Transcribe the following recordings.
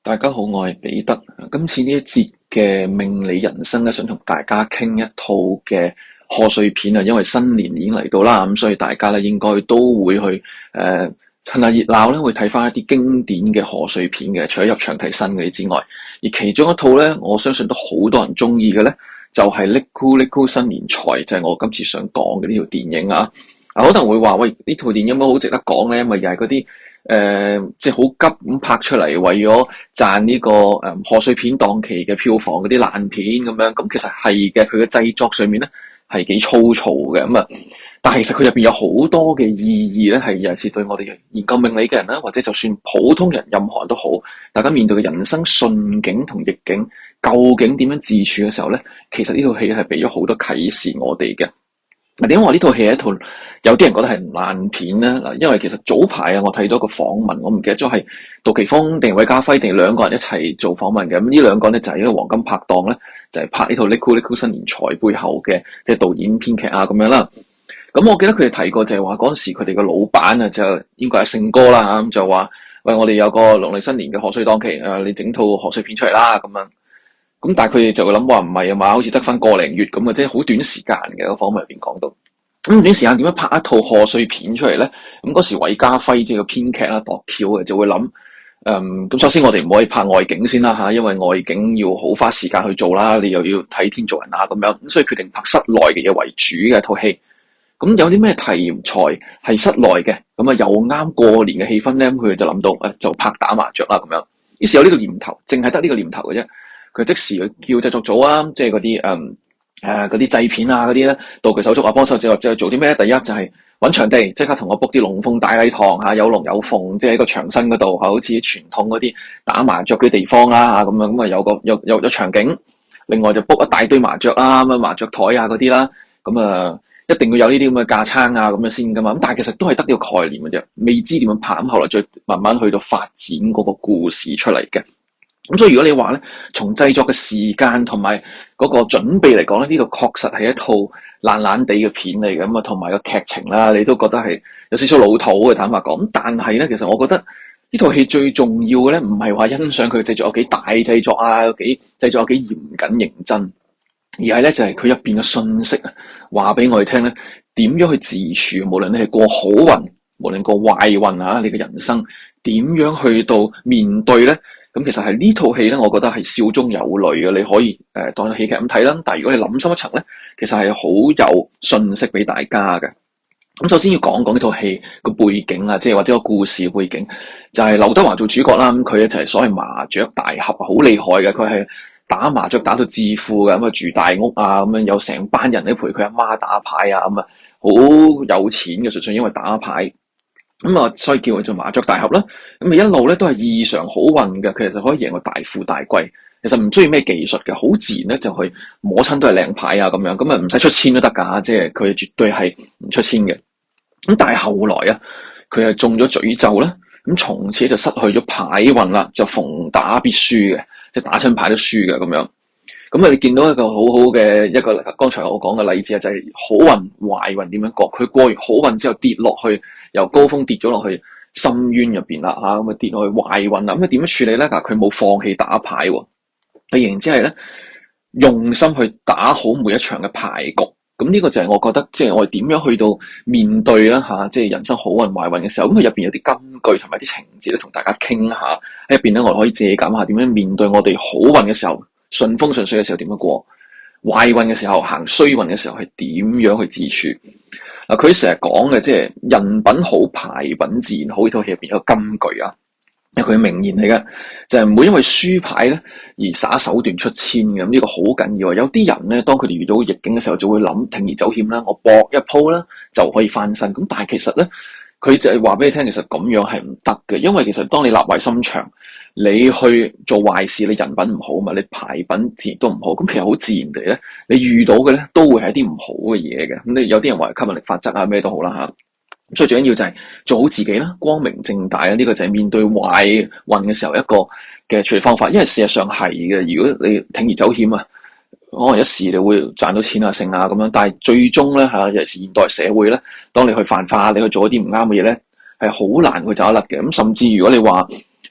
大家好，我係彼得。今次呢一節嘅命理人生咧，想同大家傾一套嘅賀歲片啊，因為新年已經嚟到啦，咁所以大家咧應該都會去趁下熱鬧咧，會睇翻一啲經典嘅賀歲片嘅，除咗入場睇新嗰啲之外，而其中一套咧，我相信都好多人中意嘅咧，就係《嚦咕嚦咕新年財》，就係我今次想講嘅呢條電影啊。可能會話喂，呢套電影有冇好值得講咧？因為又係嗰啲即係好急咁拍出嚟，為咗賺呢個賀歲片檔期嘅票房嗰啲爛片咁樣。咁其實係嘅，佢嘅製作上面咧係幾粗糙嘅咁啊。但係其實佢入邊有好多嘅意義咧，係尤其是對我哋研究命理嘅人啦，或者就算普通人任何人都好，大家面對嘅人生順境同逆境，究竟點樣自處嘅時候咧，其實呢套戲係俾咗好多啟示我哋嘅。嗱，點解話呢套戲係一套有啲人覺得係爛片咧？嗱，因為其實早排啊，我睇到一個訪問，我唔記得咗係杜琪峰定韋家輝定兩個人一齊做訪問嘅。咁呢兩個咧就係一個黃金拍檔咧，就係拍呢套《嚦咕嚦咕新年財》背後嘅即係導演編劇啊咁樣啦。咁我記得佢哋提過就係話嗰陣時佢哋個老闆啊，就應該係勝哥啦嚇，咁就話喂，我哋有個農曆新年嘅賀歲檔期，你整套賀歲片出嚟啦咁樣。咁但係佢哋就會諗話唔係啊嘛，好似得翻個零月咁啊，即係好短時間嘅。個訪問入邊講到，咁短時間點樣拍一套賀歲片出嚟咧？咁嗰時韋家輝即係個編劇啦，度橋嘅就會諗，咁首先我哋唔可以拍外景先啦嚇，因為外景要好花時間去做啦，你又要睇天做人啊咁樣，咁所以決定拍室內嘅嘢為主嘅一套戲。咁有啲咩題材係室內嘅，咁啊又啱過年嘅氣氛咧，咁佢哋就諗到就拍打麻雀啦咁樣。於是有呢個念頭，淨係得呢個念頭嘅啫。佢即時叫製作組啊，即係嗰啲嗰啲製片啊嗰啲咧，道具手足啊幫手就做啲咩咧？第一就係揾場地，即刻同我 book 啲龍鳳大禮堂嚇，有龍有鳳，即係喺個牆身嗰度嚇，好似傳統嗰啲打麻雀嘅地方啦嚇，咁樣咁啊有場景。另外就 book 一大堆麻雀啦，咁啊麻雀台啊嗰啲啦，咁啊一定要有呢啲咁嘅架撐啊咁樣先噶嘛。咁但係其實都係得呢個概念嘅啫，未知點樣拍。咁後來再慢慢去到發展嗰個故事出嚟嘅。咁所以如果你話咧，從製作嘅時間同埋嗰個準備嚟講咧，呢個確實係一套爛爛地嘅片嚟嘅。咁啊，同埋個劇情啦，你都覺得係有少少老土嘅，坦白講。咁但係咧，其實我覺得呢套戲最重要嘅咧，唔係話欣賞佢製作有幾大製作啊，製作有幾嚴謹認真，而係咧就係佢入邊嘅信息啊，話俾我哋聽咧，點樣去自處，無論你係過好運，無論過壞運啊，你嘅人生點樣去到面對咧？咁其實係呢套戲咧，我覺得係笑中有淚嘅。你可以當戲劇咁睇啦。但係如果你諗深一層咧，其實係好有信息俾大家嘅。咁首先要講講呢套戲個背景啊，即係或者個故事背景，就係劉德華做主角啦。咁佢咧就係所謂麻雀大俠，好厲害嘅。佢係打麻雀打到致富嘅，咁啊住大屋啊，咁樣有成班人咧陪佢阿媽打牌啊，咁啊好有錢嘅，純粹因為打牌。咁啊，所以叫佢做麻雀大俠啦。咁啊，一路咧都係異常好運嘅，佢其實可以贏到大富大貴。其實唔需要咩技術嘅，好自然咧就去摸親都係靚牌啊咁樣。咁啊唔使出千都得㗎，即係佢絕對係唔出千嘅。咁但係後來啊，佢係中咗詛咒啦。咁從此就失去咗牌運啦，就逢打必輸嘅，即係打親牌都輸嘅咁樣。咁啊，你見到一個好好嘅一個，剛才我講嘅例子啊，就係好運壞運點樣過。佢過完好運之後跌落去，由高峰跌咗落去深淵入邊啦嚇，咁啊跌落去壞運啦。咁啊點樣處理咧？嗱，佢冇放棄打牌喎，佢然之係咧用心去打好每一場嘅牌局。咁呢個就係我覺得，即係我哋點樣去到面對啦嚇，即係人生好運壞運嘅時候。咁佢入邊有啲金句同埋啲情節咧，同大家傾下喺入邊咧，我哋可以借鑑下點樣面對我哋好運嘅時候。順風順水嘅時候點樣過，壞運嘅時候行衰運嘅時候係點樣去自處？嗱，佢成日講嘅即係人品好，牌品自然好。呢套戲入邊有個金句啊，係佢名言嚟嘅，就係唔會因為輸牌咧而耍手段出千嘅。呢個好緊要啊！有啲人咧，當佢哋遇到逆境嘅時候，就會諗鋌而走險啦，我搏一鋪啦就可以翻身。咁但係其實咧，佢就係話俾你聽，其實咁樣係唔得嘅，因為其實當你立壞心腸，你去做壞事，你人品唔好嘛，你牌品自然都唔好。咁其實好自然地咧，你遇到嘅咧都會係一啲唔好嘅嘢嘅。咁你有啲人話吸引力法則啊，咩都好啦嚇。咁所以最緊要就係做好自己啦，光明正大啦。呢個就係面對壞運嘅時候一個嘅處理方法。因為事實上係嘅，如果你鋌而走險啊，可能一時你會賺到錢啊、剩啊咁樣，但係最終咧嚇，尤其是現代社會咧，當你去犯法，你去做一啲唔啱嘅嘢咧，係好難去走得甩嘅。咁甚至如果你話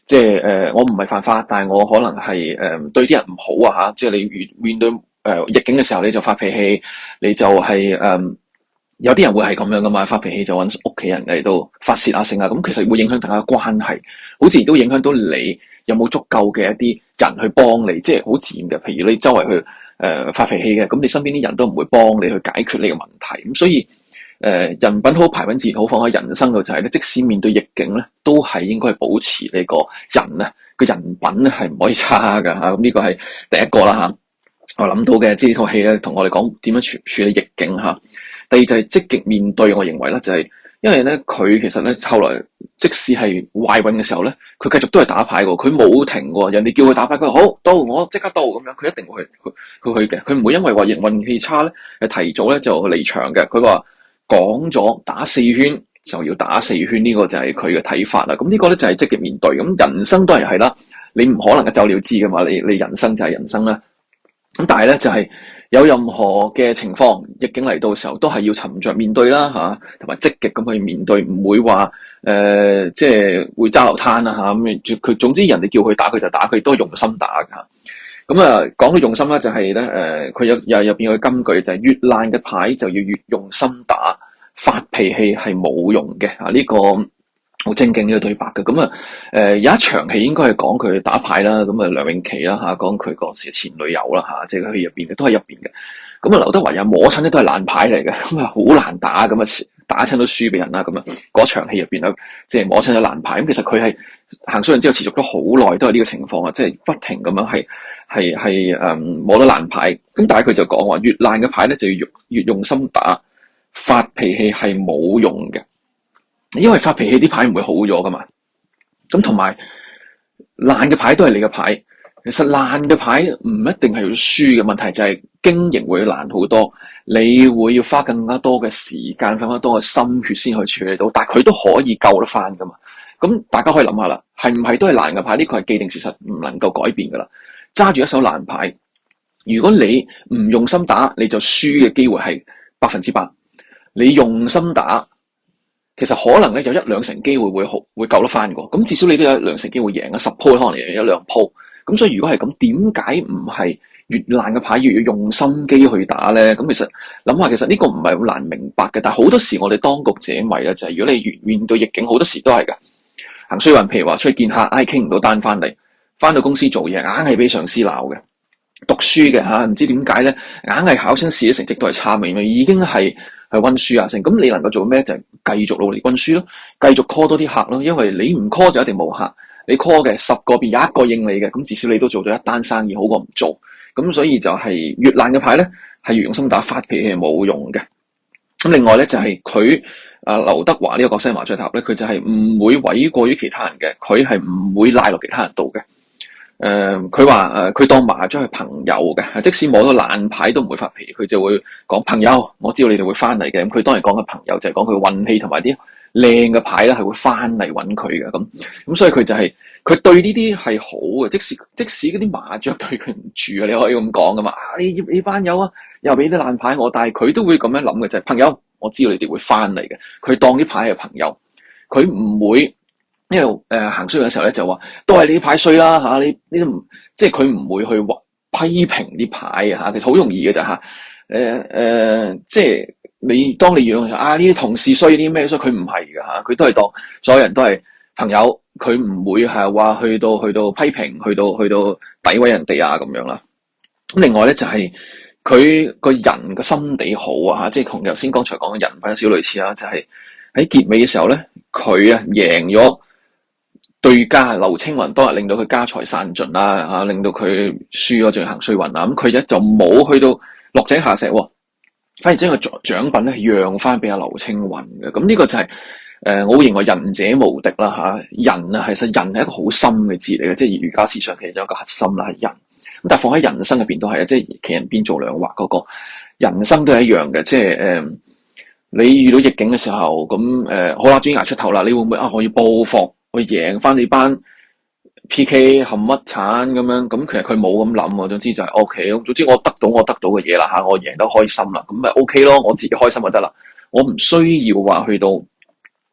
即係我唔係犯法，但係我可能係對啲人唔好啊嚇，即係你面對逆境嘅時候你就發脾氣，你就係有啲人會係咁樣噶嘛，發脾氣就揾屋企人嚟到發泄啊性啊，咁其實會影響大家關係，好自然都影響到你有冇足夠嘅一啲人去幫你，即係好自然嘅。譬如你周圍去發脾氣嘅，咁你身邊啲人都唔會幫你去解決呢個問題，咁所以人品好排品自然好，放喺人生度就係咧，即使面對逆境咧，都係應該係保持呢個人咧個人品咧係唔可以差㗎嚇，咁呢個係第一個啦嚇。我諗到嘅，即係呢套戲咧，同我哋講點樣處理逆境嚇。第二就係積極面對，我認為咧就係，因為咧佢其實咧後來即使係壞運嘅時候咧，佢繼續都係打牌喎，佢冇停喎。人哋叫佢打牌，佢話好到，我即刻到咁樣，佢一定會去嘅。佢唔會因為話運氣差咧，提早咧就離場嘅。佢話講咗打4圈就要打4圈，呢個就係佢嘅睇法啦。咁呢個咧就係積極面對。咁人生當然係啦，你唔可能一走了之噶嘛，你人生就係人生啦。咁但係咧就係有任何嘅情況逆境嚟到嘅時候，都係要沉着面對啦嚇，同埋積極咁去面對，唔會話即係會揸流攤啦嚇。咁佢總之人哋叫佢打佢就打，佢都係用心打㗎。咁講到用心咧，就係咧佢入邊有個金句就係越爛嘅牌就要越用心打，發脾氣係冇用嘅啊！呢個好正經嘅對白嘅。咁有一場戲應該係講佢打牌啦，咁梁詠琪啦嚇，講佢嗰時前女友啦嚇，即係佢入邊嘅都係入邊嘅。咁劉德華又摸親咧都係爛牌嚟嘅，咁好難打，咁打親都輸俾人啦。咁嗰場戲入邊咧，即係摸親咗爛牌。咁其實佢係行衰運之後持續咗好耐都係呢個情況啊，即係不停咁樣係摸得爛牌。咁但係佢就講話越爛嘅牌咧就要越用心打，發脾氣係冇用嘅。因為發脾氣啲牌唔會好咗噶嘛，咁同埋爛嘅牌都係你嘅牌，其實爛嘅牌唔一定係要輸嘅，問題就係經營會難好多，你會要花更加多嘅時間，更加多嘅心血先去處理到，但係佢都可以救得翻噶嘛。咁大家可以諗下啦，係唔係都係爛嘅牌？呢個係既定事實，唔能夠改變噶啦。揸住一手爛牌，如果你唔用心打，你就輸嘅機會係100%。你用心打，其實可能咧有1-2成機會會救得翻嘅，咁至少你都有1-2成機會贏啊，10鋪可能贏1-2鋪。咁所以如果係咁，點解唔係越爛嘅牌越要用心機去打咧？咁其實諗下，其實呢個唔係好難明白嘅，但係好多時我哋當局者迷咧，就係如果你面對逆境，好多時都係㗎。行衰運，譬如話出去見客，傾唔到單翻嚟，翻到公司做嘢，硬係俾上司鬧嘅。讀書嘅嚇，唔知點解咧，硬係考親試嘅成績都係差，明明已經係溫書啊成，咁你能夠做咩？就係繼續努力溫書咯，繼續 call 多啲客咯，因為你唔 call 就一定冇客，你 call 嘅10個變有1個應你嘅，咁至少你都做咗一單生意，好過唔做。咁所以就係越爛嘅牌咧，係越用心打，發脾氣係冇用嘅。咁另外咧就係佢劉德華呢個角色麻雀塔咧，佢就係唔會諉過於其他人嘅，佢係唔會賴落其他人度嘅。佢話佢當麻雀係朋友嘅，即使摸到爛牌都唔會發脾氣，佢就會講朋友，我知道你哋會翻嚟嘅。咁佢當然講嘅朋友就係講佢運氣同埋啲靚嘅牌咧係會翻嚟揾佢嘅。咁所以佢就係佢對呢啲係好嘅，即使嗰啲麻雀對佢唔住啊，你可以咁講噶嘛。你班友啊，又俾啲爛牌我，但係佢都會咁樣諗嘅，就係朋友，我知道你哋會翻嚟嘅。佢當啲牌係朋友，佢唔會。因為行衰嘅時候咧就話都係你啲牌衰啦嚇，你都唔即係佢唔會去批評啲牌啊嚇，其實好容易嘅咋嚇。即係你當你用呢啲同事衰啲咩衰，佢唔係㗎嚇，佢都係當所有人都係朋友，佢唔會係話去到批評，去到詆毀人哋啊咁樣啦。咁另外咧就係佢個人個心地好啊嚇，即係同頭先剛才講嘅人品有少類似啦，就係喺結尾嘅時候咧，佢贏咗。對家劉青雲當日令到佢家財散盡啦嚇，令到佢輸咗，仲要行衰運啦。咁佢咧就冇去到落井下石喎，反而將個獎品咧讓翻俾阿劉青雲嘅。咁呢個就係我會認為仁者無敵啦嚇。仁啊，其實仁係一個好深嘅字嚟嘅，即係儒家思想其實有一個核心啦係仁。咁但係放喺人生入邊都係啊，即係企人邊做兩劃嗰個人生都係一樣嘅，即係你遇到逆境嘅時候，咁好啦，終於捱出頭啦，你會唔會我要報復？去贏翻你班 P.K. 冚乜鏟咁樣，咁其實佢冇咁諗喎。總之就係 O.K. 總之我得到嘅嘢啦嚇，我贏得開心啦，咁咪 O.K. 咯，我自己開心就得啦。我唔需要話去到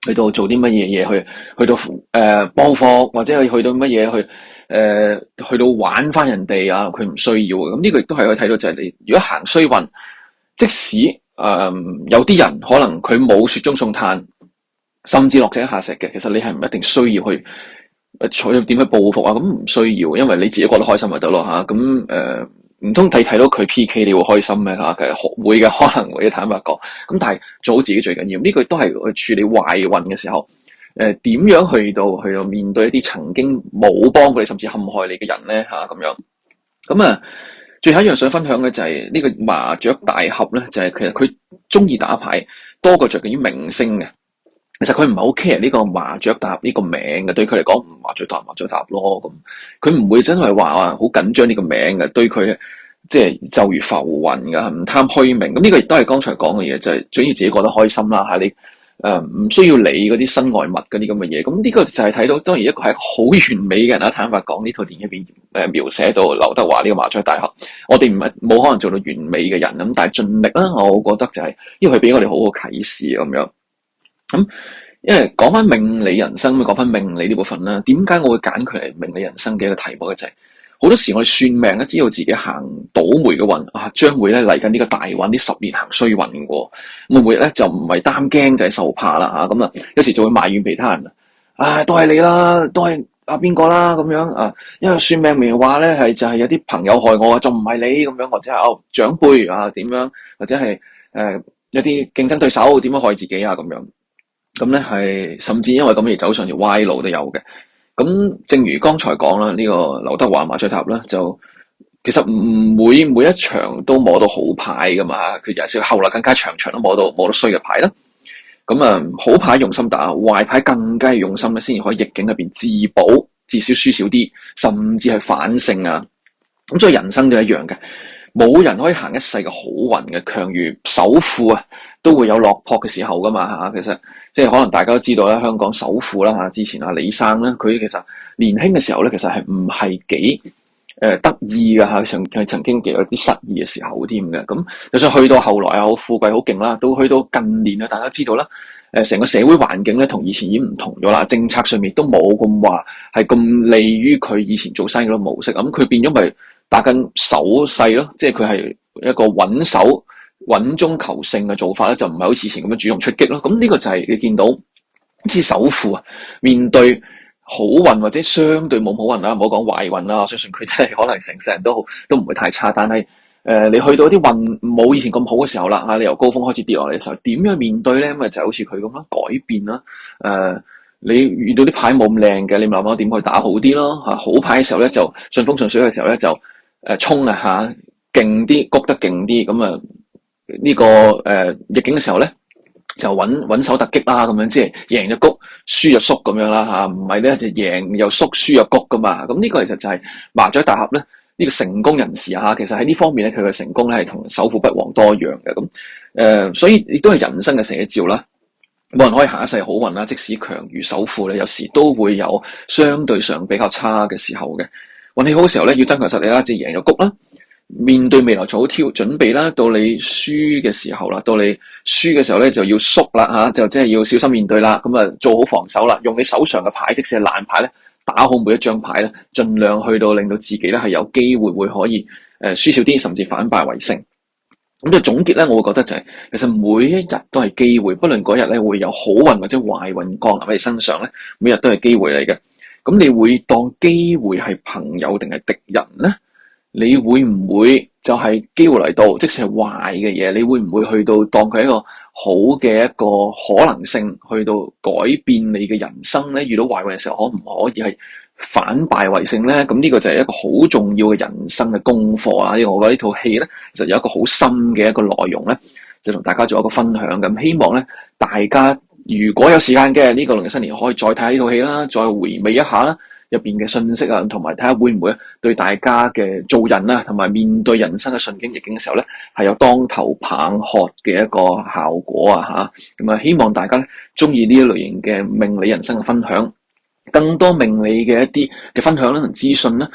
去到做啲乜嘢嘢去到報復，或者去到乜嘢去到玩翻人哋啊，佢唔需要嘅。咁呢個亦都係可以睇到就係你如果行衰運，即使有啲人可能佢冇雪中送炭，甚至落井下石嘅，其實你係唔一定需要去點去報復啊，咁唔需要，因為你自己覺得開心就得咯嚇。咁唔通睇到佢 PK 你會開心咩嚇？其實會嘅，可能會坦白講。咁但係做好自己最緊要。呢個都係去處理壞運嘅時候，點樣去到面對一啲曾經冇幫過你甚至陷害你嘅人咧嚇咁樣。咁最後一樣想分享嘅就係呢個麻雀大俠咧，就係其實佢中意打牌多過着緊於明星嘅。其實佢唔係好 care 呢個麻雀大俠呢個名嘅，對佢嚟講麻雀大俠咯咁，佢唔會真係話好緊張呢個名嘅，對佢即係就如浮雲噶，唔貪虛名。咁呢個亦都係剛才講嘅嘢，就係主要自己覺得開心啦嚇你。唔需要理嗰啲身外物嗰啲咁嘅嘢，咁呢個就係睇到，當然一個係好完美嘅人啦。坦白講，呢套電影入邊描寫到劉德華呢個麻雀大俠，我哋唔係冇可能做到完美嘅人咁，但係盡力啦。我覺得就係，因為佢俾我哋好好啟示咁樣。咁因為講翻命理人生，講翻命理呢部分啦，點解我會揀佢嚟命理人生嘅一個題目嘅就係，好多時我哋算命咧，知道自己行倒霉嘅運啊，將會咧嚟緊呢個大運，呢10年行衰運嘅。咁啊，每日咧就唔係擔驚就係受怕啦嚇。咁有時就會埋怨其他人都係你啦，都係邊個啦咁樣啊。因為算命明話咧就係有啲朋友害我啊，就唔係你咁樣，或者係長輩啊點樣，或者係有啲競爭對手點樣害自己啊咁樣。咁咧係甚至因為咁而走上條歪路都有嘅。咁正如剛才講啦，呢個劉德華麻雀塔咧，就其實唔會每一場都摸到好牌噶嘛，佢有時後來更加場場都摸到衰嘅牌啦。咁好牌用心打，壞牌更加係用心咧，先至可以逆境入邊自保，至少輸少啲，甚至係反勝啊。咁所以人生都一樣嘅，冇人可以行一世嘅好運嘅，強如首富啊，都會有落魄嘅時候噶嘛嚇。其實即係可能大家都知道啦，香港首富啦嚇，之前李生咧，佢其實年輕嘅時候咧，其實係唔係幾得意㗎嚇，曾經有啲失意嘅時候添嘅。咁就算去到後來啊，好富貴好勁啦，到去到近年啊，大家知道啦，成個社會環境咧同以前已經唔同咗啦，政策上面都冇咁話係咁利於佢以前做生意嘅模式。咁佢變咗咪打緊手勢咯，即係佢係一個穩中求勝嘅做法咧，就唔係好似以前咁樣主動出擊咯。咁呢個就係你見到啲首富啊，面對好運或者相對冇好運啦，唔好講壞運啦，我相信佢真係可能成世人都唔會太差。但係你去到啲運冇以前咁好嘅時候啦，你由高峰開始跌落嚟嘅時候，點樣面對咧？咁就好似佢咁啦，改變啦。你遇到啲牌冇咁靚嘅，你咪諗下點去打好啲咯。好牌嘅時候咧，就順風順水嘅時候咧，就衝啊嚇，勁啲谷得勁啲咁呢個逆境嘅時候咧，就穩手突擊啦，咁樣即係贏就谷，輸就縮咁樣啦嚇，唔係咧就贏又縮，輸又谷噶嘛。咁呢個其實就係麻雀大俠咧，呢個成功人士嚇，其實喺呢方面咧，佢嘅成功咧係同首富不遑多讓嘅。咁所以亦都係人生嘅寫照啦。冇人可以行一世好運啦，即使強如首富咧，有時都會有相對上比較差嘅時候嘅。運氣好嘅時候咧，要增強實力啦，即係贏就谷啦。面對未來做好準備啦，到你輸嘅時候啦，到你輸嘅時候咧就要縮啦嚇，就即係要小心面對啦。咁做好防守啦，用你手上嘅牌，即使係爛牌咧，打好每一張牌咧，盡量去到令到自己咧係有機會會可以輸少啲，甚至反敗為勝。咁就總結咧，我會覺得就係其實每一日都係機會，不論嗰日咧會有好運或者壞運降臨喺你身上咧，每日都係機會嚟嘅。咁你會當機會係朋友定係敵人咧？你會唔會就係機會嚟到，即使係壞嘅嘢，你會唔會去到當佢一個好嘅一個可能性，去到改變你嘅人生咧？遇到壞運嘅時候，可唔可以係反敗為勝咧？咁呢個就係一個好重要嘅人生嘅功課啊！因為我覺得呢套戲咧，其實有一個好深嘅一個內容咧，就同大家做一個分享咁。希望咧，大家如果有時間嘅呢個農曆新年，可以再睇下呢套戲啦，再回味一下啦。入邊嘅信息啊，同埋睇下會唔會對大家嘅做人啊，同埋面對人生嘅順境逆境嘅時候咧，係有當頭棒喝嘅一個效果啊嚇！咁希望大家咧中意呢一類型嘅命理人生嘅分享，更多命理嘅一啲嘅分享啦同資訊啦。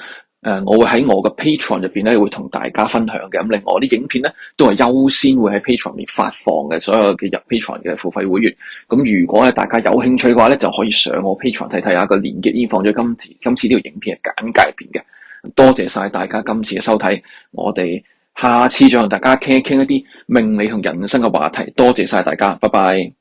我會喺我嘅 Patreon 入邊咧會同大家分享嘅。咁另外我啲影片咧都係優先會喺 Patreon 入面發放嘅，所有嘅入 Patreon 嘅付費會員。咁如果咧大家有興趣嘅話咧，就可以上我 Patreon 睇睇下，個連結已經放咗今次呢條影片嘅簡介入邊嘅。多謝晒大家今次嘅收睇，我哋下次再同大家傾一傾一啲命理同人生嘅話題。多謝晒大家，拜拜。